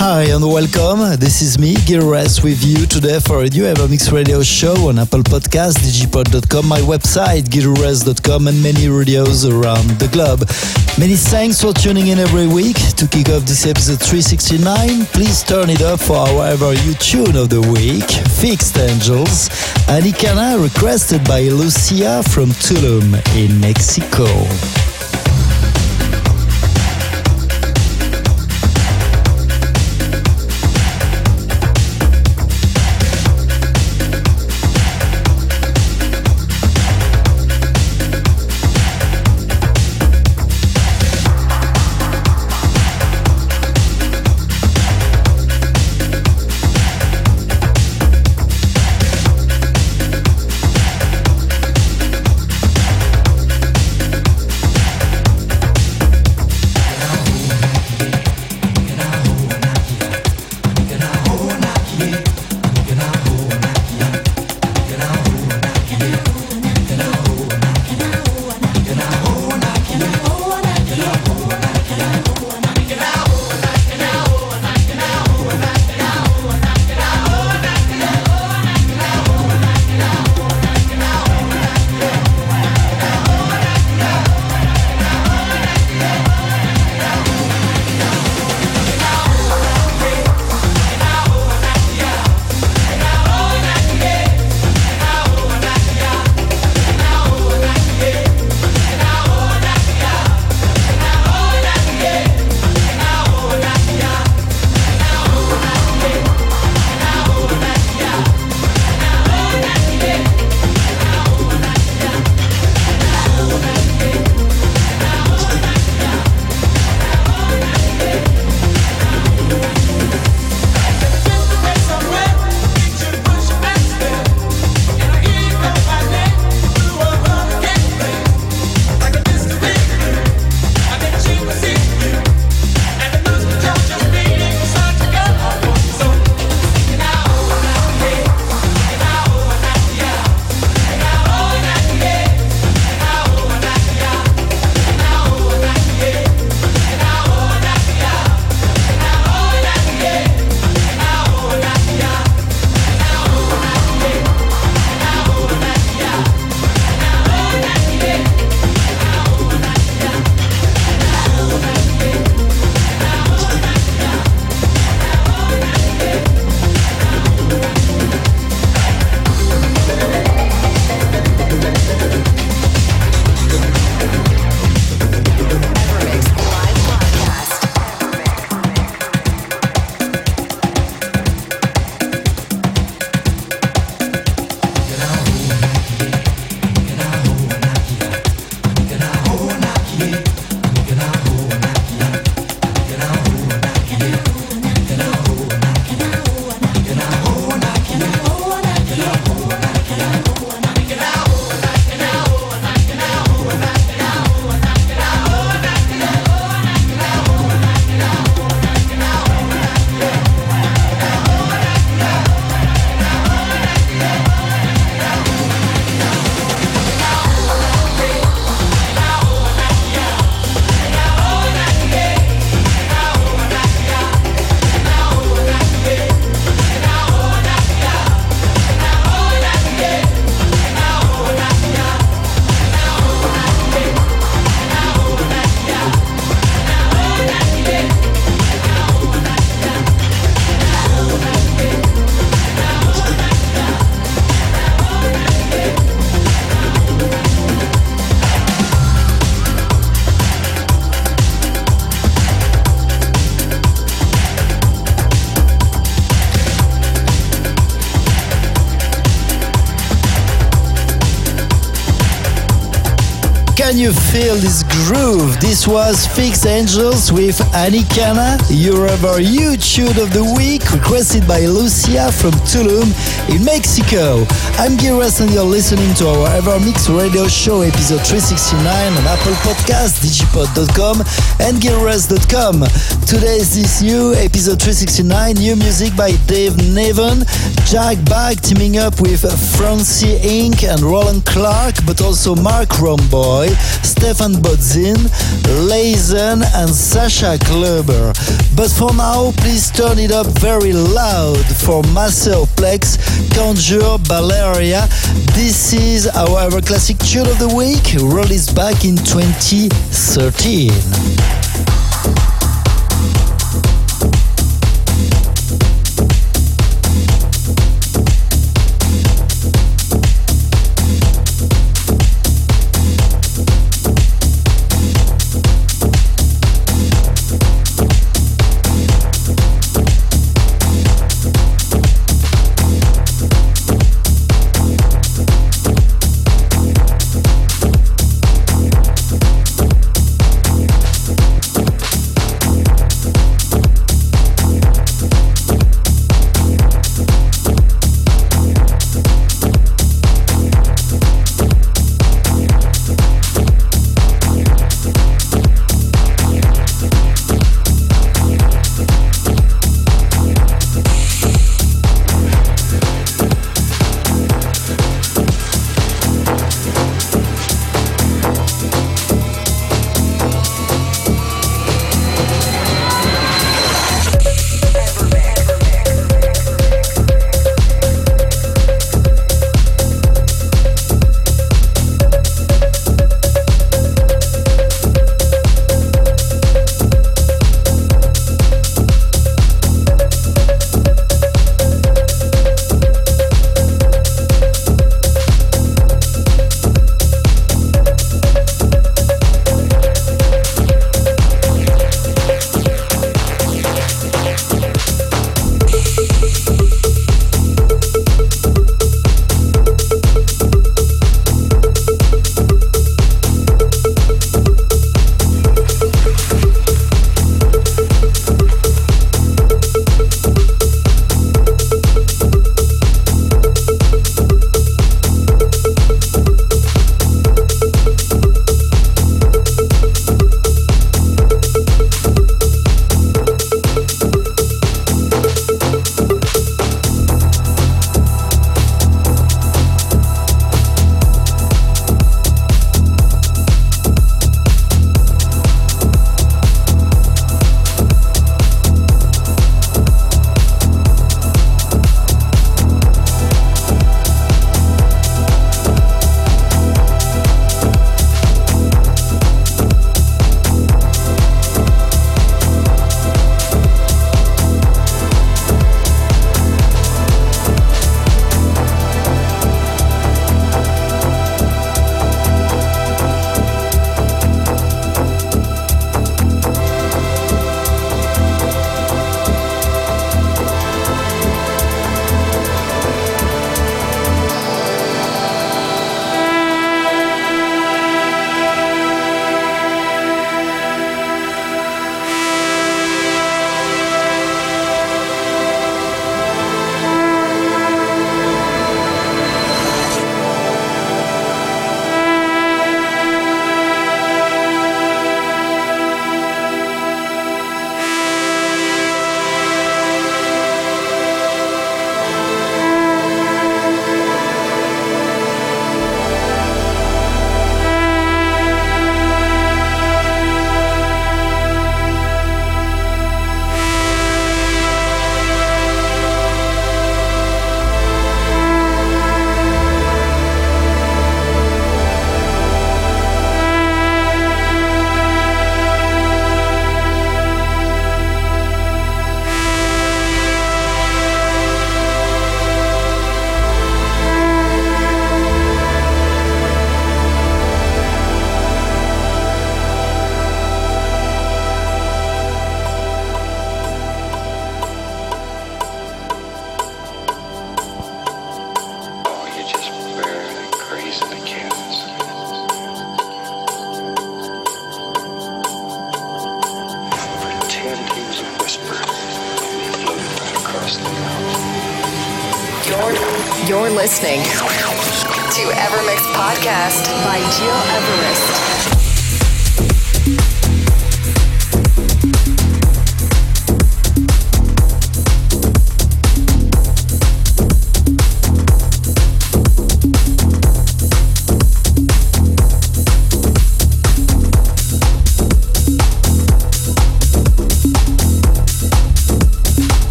Hi and welcome. This is me, Gil Everest, with you today for a new Evermix radio show on Apple Podcasts, digipod.com, my website, gileverest.com, and many radios around the globe. Many thanks for tuning in every week. To kick off this episode 369, please turn it up for our Ever You Tune of the Week, Fixed Angels, Anicana, requested by Lucia from Tulum in Mexico. Can you feel this groove? This was Fixed Angels with Anicana, your Ever You Tune of the Week, requested by Lucia from Tulum in Mexico. I'm Gil Everest and you're listening to our Evermix radio show episode 369 on Apple Podcasts, digipod.com and gileverest.com. Today is this new episode 369, new music by Dave Nevin, Jack Bag teaming up with Francie Inc. and Roland Clark, but also Mark Romboy. Stefan Bodzin, Lazen and Sasha Kluber. But for now, please turn it up very loud for Marcel Plex, Conjure Valeria. This is our Ever Classic Tune of the Week, released back in 2013. You're listening to Evermix Podcast by Gil Everest.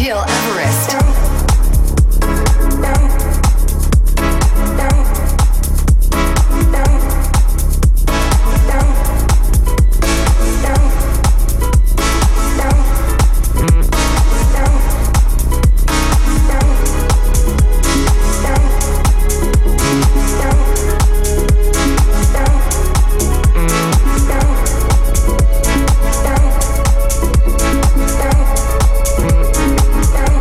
Gil Everest. Down.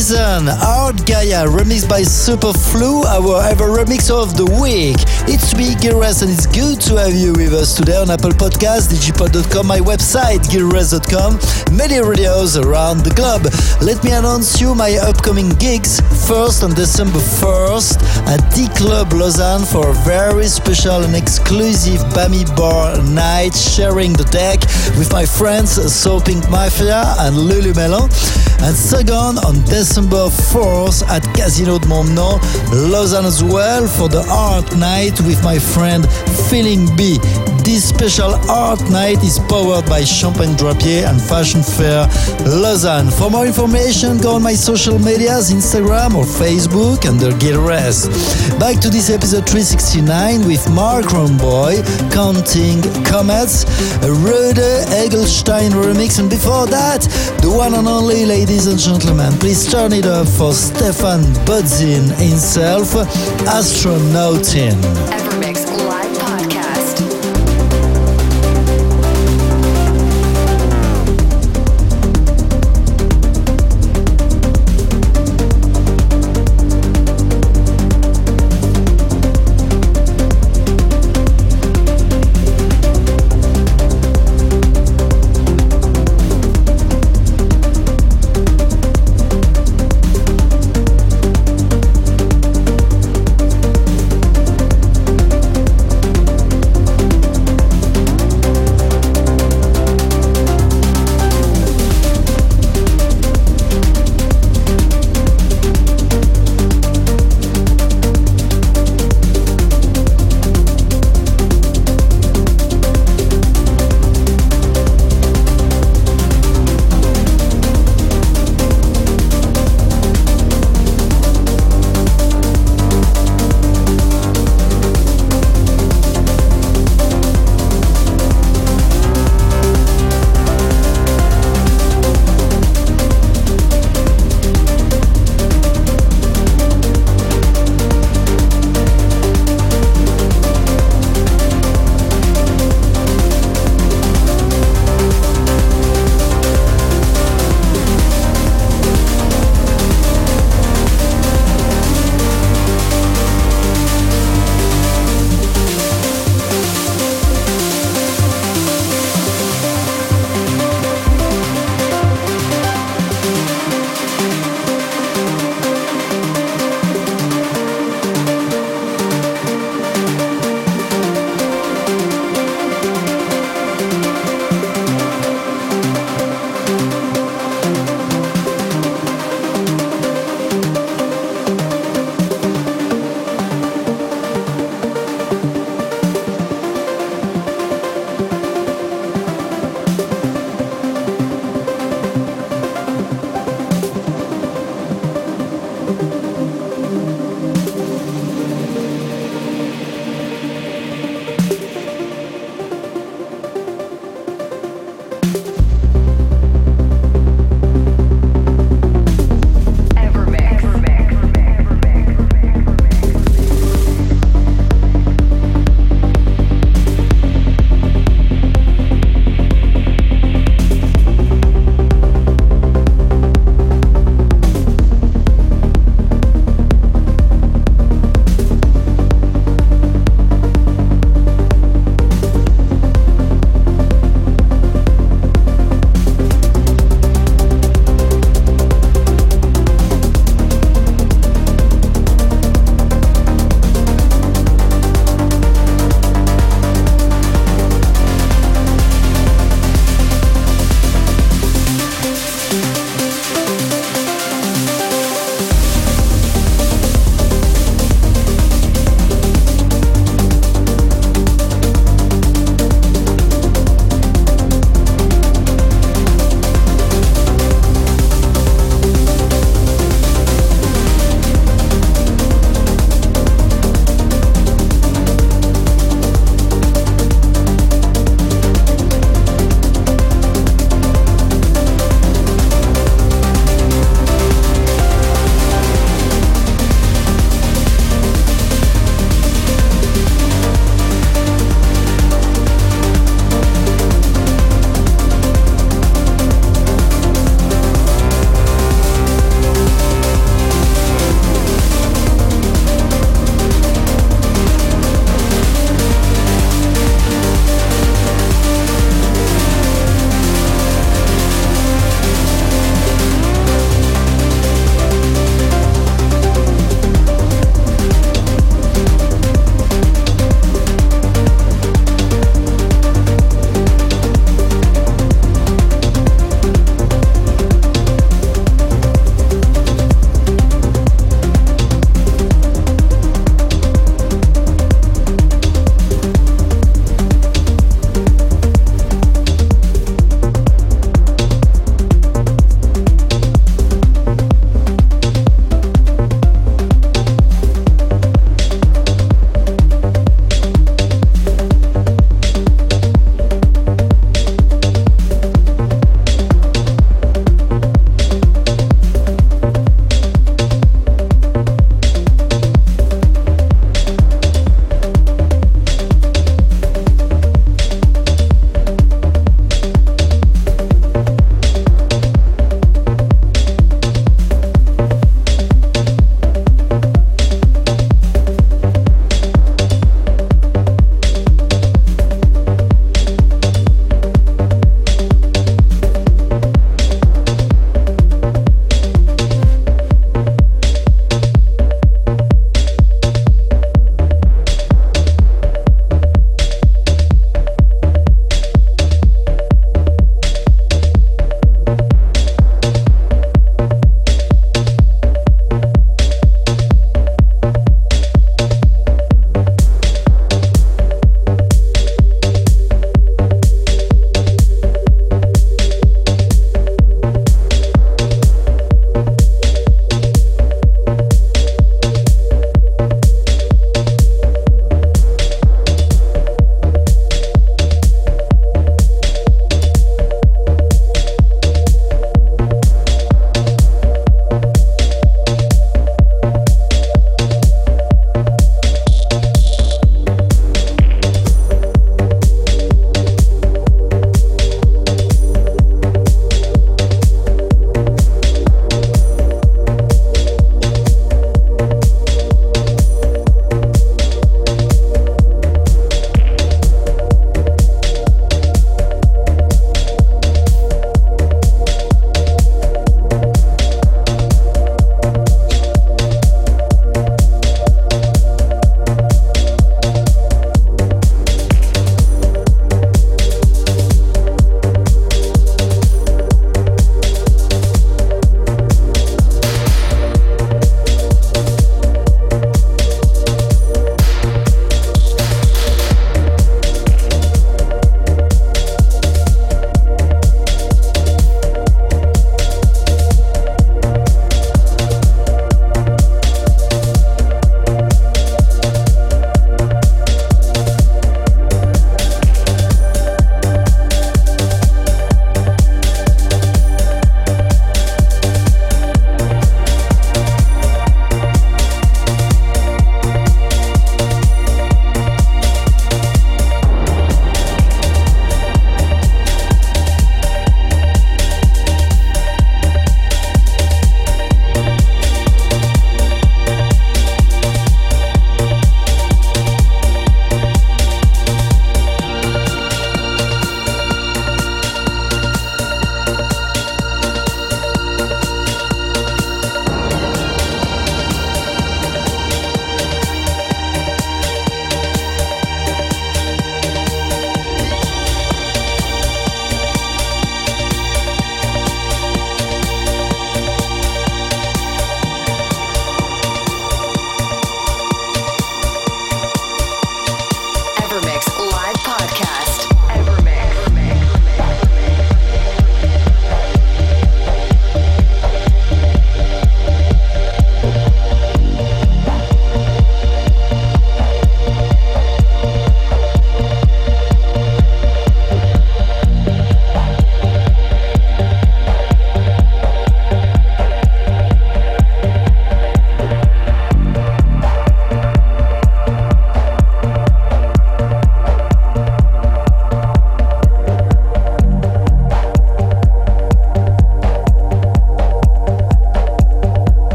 Reason, Art Gaia, remixed by Superflu, our ever remix of the week. It's me, Gilres, and it's good to have you with us today on Apple Podcasts, digipod.com, my website, gilres.com, many radios around the globe. Let me announce you my upcoming gigs. First, on December 1st, at D-Club Lausanne for a very special and exclusive Bami Bar night, sharing the deck with my friends So Pink Mafia and Lulu Melon. And second, on December 4th at Casino de Montbenon, Lausanne as well, for the art night with my friend Feeling B. This special art night is powered by Champagne Drapier and Fashion Fair Lausanne. For more information, go on my social medias, Instagram or Facebook under Gilres. Back to this episode 369 with Mark Romboy, Counting Comets, a Rode Egelstein remix, and before that, the one and only, ladies and gentlemen, please turn it up for Stefan Budzin himself, Astronautin. Evermix Live Podcast.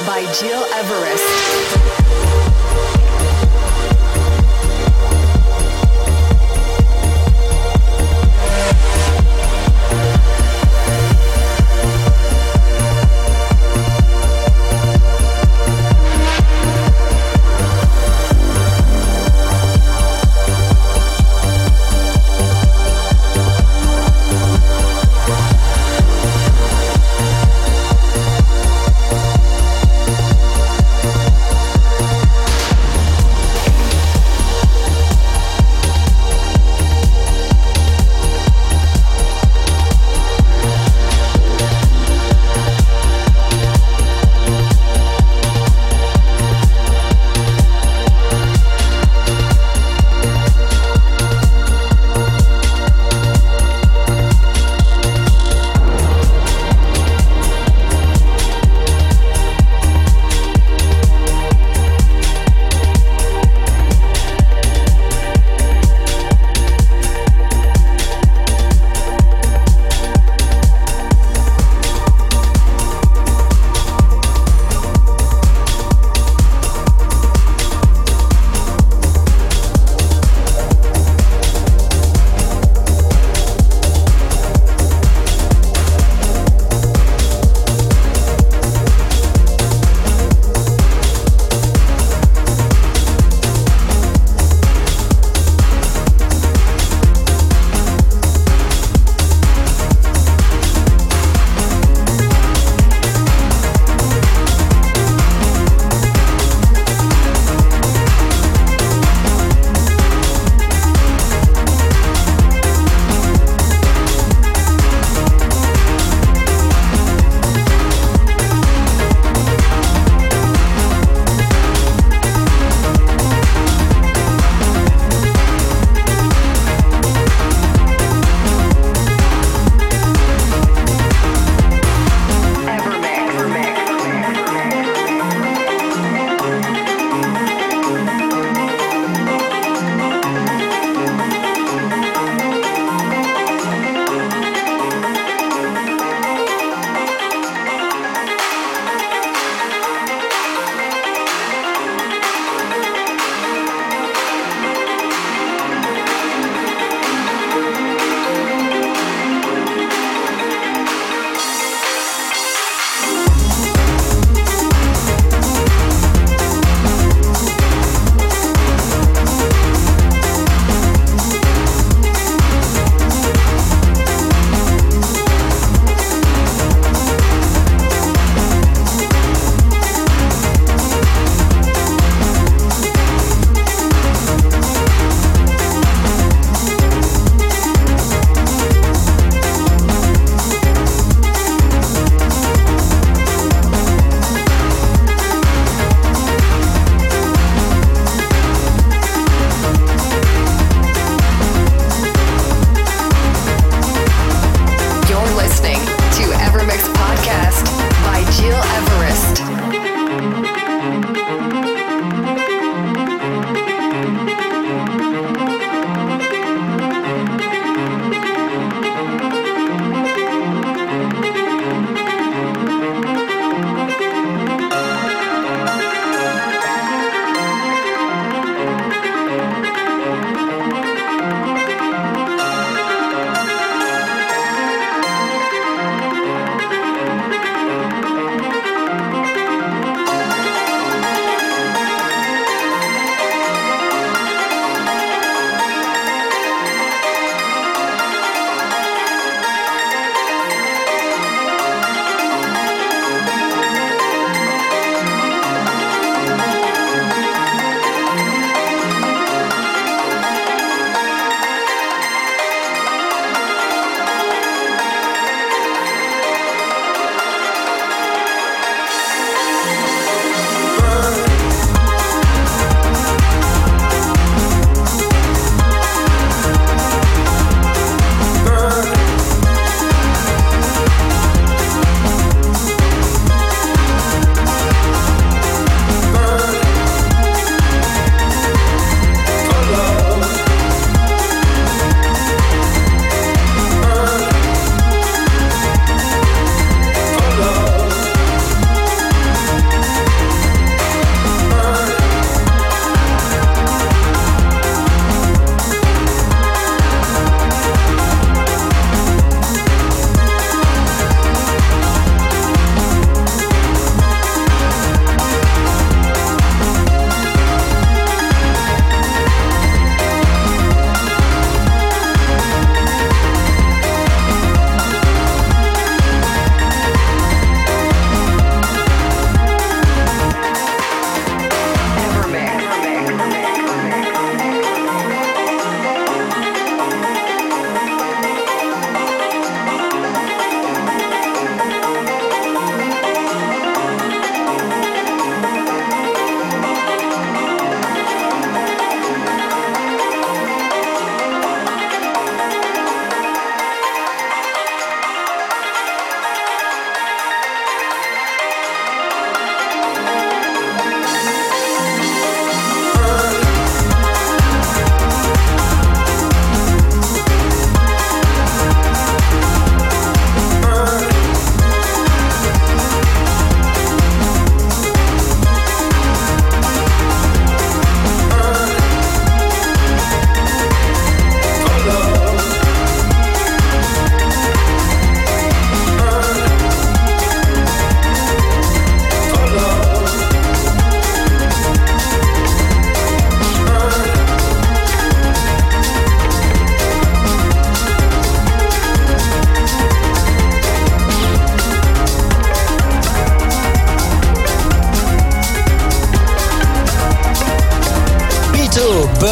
by Gil Everest.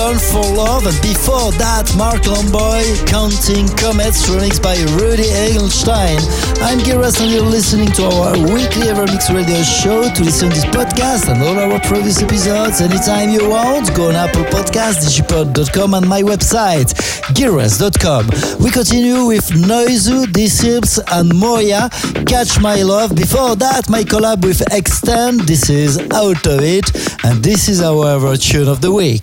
Burn for Love, and before that, Mark Lomboy, Counting Comets, remixed by Rudy Egelstein. I'm Giras and you're listening to our weekly Evermix radio show. To listen to this podcast and all our previous episodes anytime you want, go on Apple Podcasts, digipod.com and my website, giras.com. We continue with Noizu, Disciples and Moya, Catch My Love. Before that, my collab with Extend, this is Out of It, and this is our tune of the week.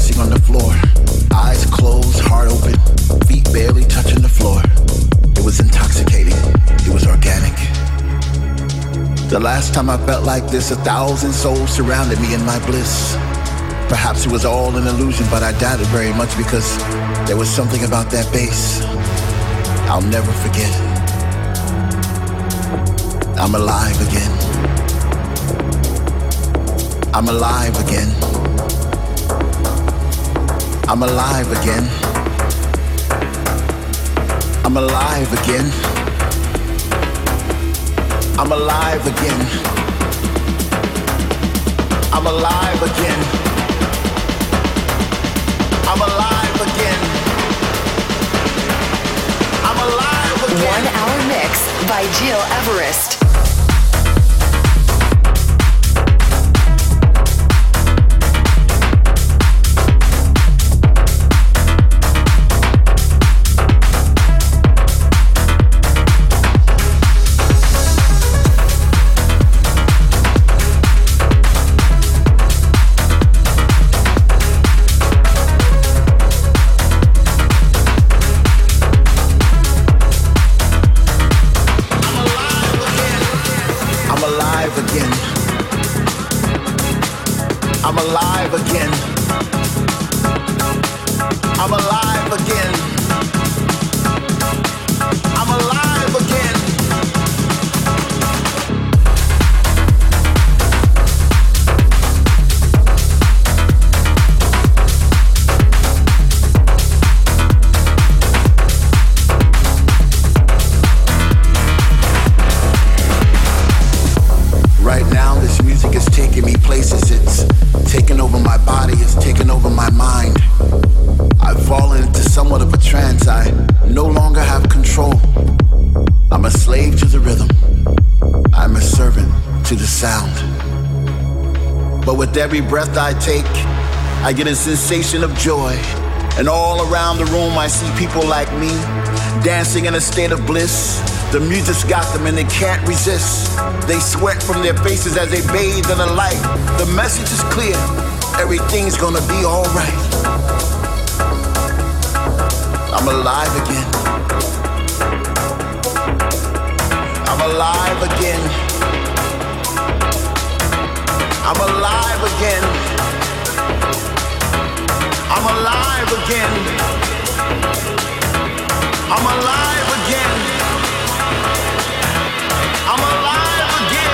dancing on the floor. Eyes closed, heart open, feet barely touching the floor. It was intoxicating. It was organic. The last time I felt like this, 1,000 souls surrounded me in my bliss. Perhaps it was all an illusion, but I doubt it very much because there was something about that bass I'll never forget. I'm alive again. I'm alive again. I'm alive again. I'm alive again. I'm alive again. I'm alive again. I'm alive again. I'm alive again. 1 hour mix by Gil Everest. I'm alive again. I'm alive again. I'm alive again. Right now, this music is taking me places. It's taking over my body, it's taking over my mind. I've fallen into somewhat of a trance. I no longer have control. I'm a slave to the rhythm. I'm a servant to the sound. But with every breath I take, I get a sensation of joy. And all around the room I see people like me, dancing in a state of bliss. The music's got them and they can't resist. They sweat from their faces as they bathe in the light. The message is clear, everything's gonna be alright. I'm alive again. I'm alive again. I'm alive again. I'm alive again. I'm alive again. I'm alive again.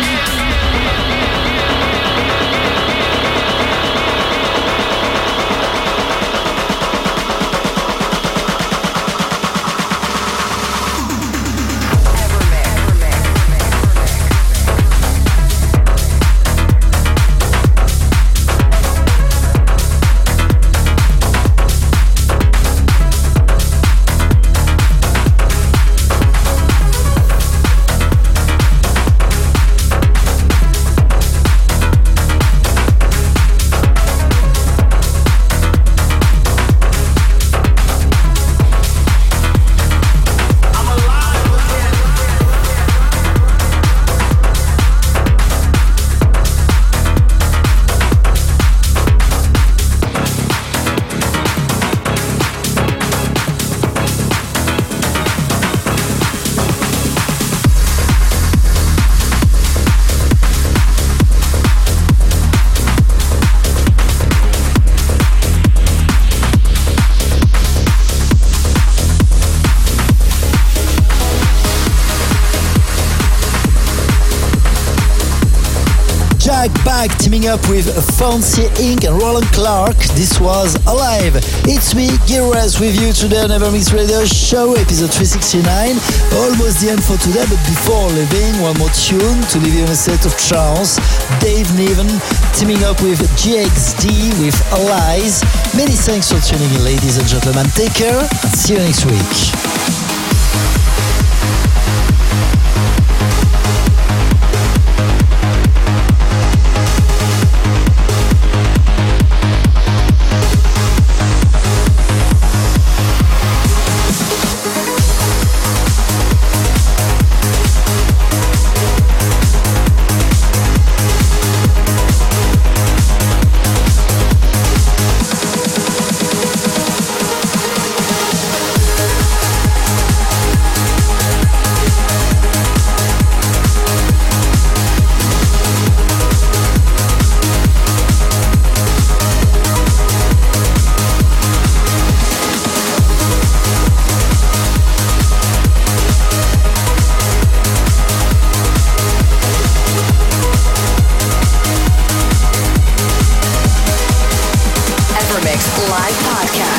Back teaming up with Fancy Inc. and Roland Clark. This was Alive. It's me, Gil Everest, with you today on Evermix Radio Show, episode 369. Almost the end for today, but before leaving, one more tune to leave you in a state of trance. Dave Niven teaming up with GXD with Allies. Many thanks for tuning in, ladies and gentlemen. Take care and see you next week. Live podcast.